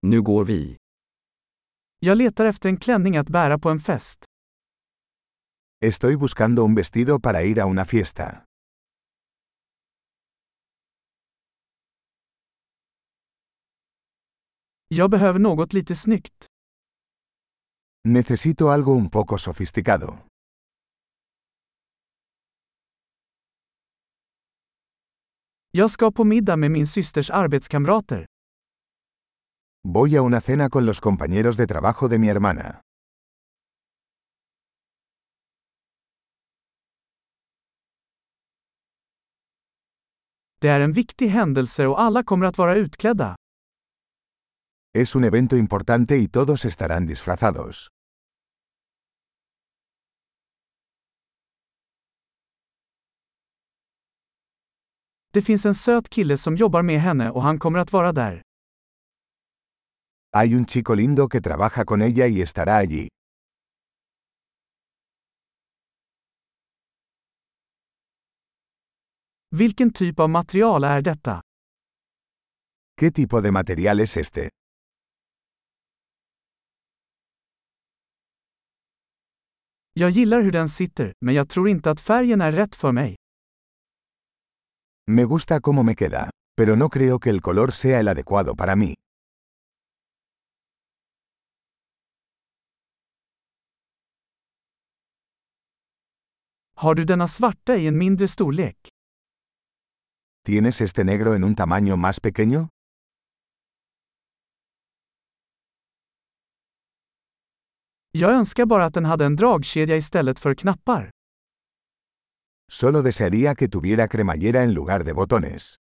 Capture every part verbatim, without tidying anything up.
Nu går vi. Jag letar efter en klänning att bära på en fest. Estoy buscando un vestido para ir a una fiesta. Jag behöver något lite snyggt. Necesito algo un poco sofisticado. Jag ska på middag med min systers arbetskamrater. Voy a una cena con los compañeros de trabajo de mi hermana. Det är en viktig händelse och alla kommer att vara utklädda. Es un evento importante y todos estarán disfrazados. Det finns en söt kille som jobbar med henne och han kommer att vara där. Hay un chico lindo que trabaja con ella y estará allí. Vilken typ av material är detta? ¿Qué tipo de material es este? Jag gillar hur den sitter, men jag tror inte att färgen är rätt för mig. Me gusta cómo me queda, pero no creo que el color sea el adecuado para mí. Har du denna svarta i en mindre storlek? ¿Tienes este negro en un tamaño más pequeño? Jag önskar bara att den hade en dragkedja istället för knappar. Solo desearía que tuviera cremallera en lugar de botones.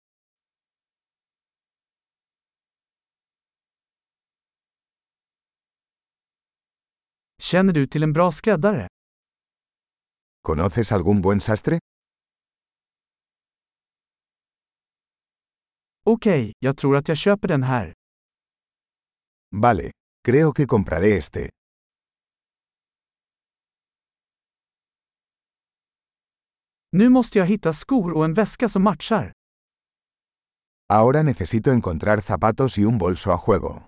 Känner du till en bra skräddare? ¿Conoces algún buen sastre? Okej, jag tror att jag köper den här. Vale, creo que compraré este. Nu måste jag hitta skor och en väska som matchar. Ahora necesito encontrar zapatos y un bolso a juego.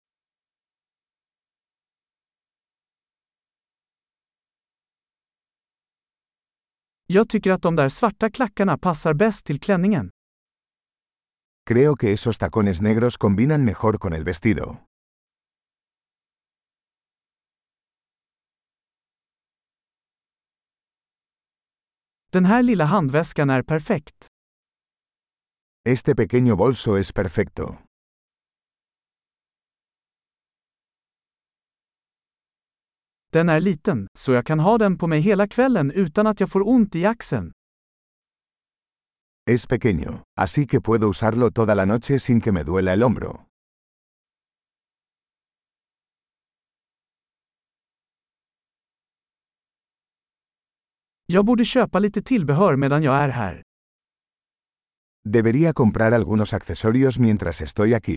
Jag tycker att de där svarta klackarna passar bäst till klänningen. Creo que esos tacones negros combinan mejor con el vestido. Den här lilla handväskan är perfekt. Este pequeño bolso es perfecto. Den är liten, så jag kan ha den på mig hela kvällen utan att jag får ont i axeln. Es pequeño, así que puedo usarlo toda la noche sin que me duela el hombro. Jag borde köpa lite tillbehör medan jag är här. Debería comprar algunos accesorios mientras estoy aquí.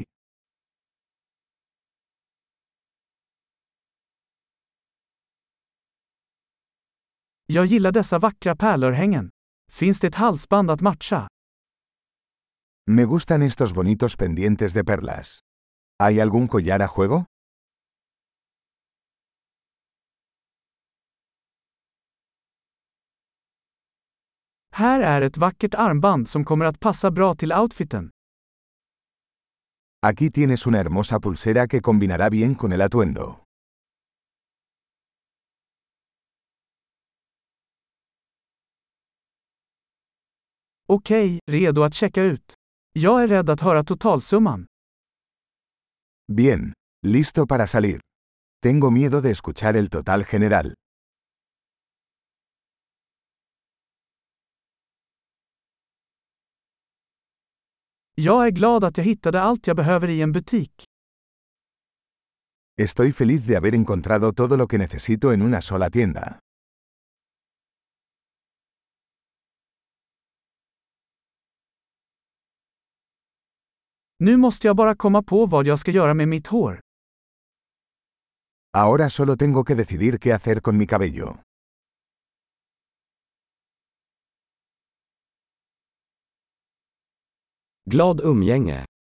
Jag gillar dessa vackra pärlörhängen. Finns det ett halsband att matcha? Me gustan estos bonitos pendientes de perlas. ¿Hay algún collar a juego? Här är ett vackert armband som kommer att passa bra till outfiten. Aquí tienes una hermosa pulsera que combinará bien con el atuendo. Okej, redo att checka ut. Jag är rädd att höra totalsumman. Bien, listo para salir. Tengo miedo de escuchar el total general. Jag är glad att jag hittade allt jag behöver i en butik. Estoy feliz de haber encontrado todo lo que necesito en una sola tienda. Nu måste jag bara komma på vad jag ska göra med mitt hår. Ahora solo tengo que decidir qué hacer con mi cabello. Glad umgänge.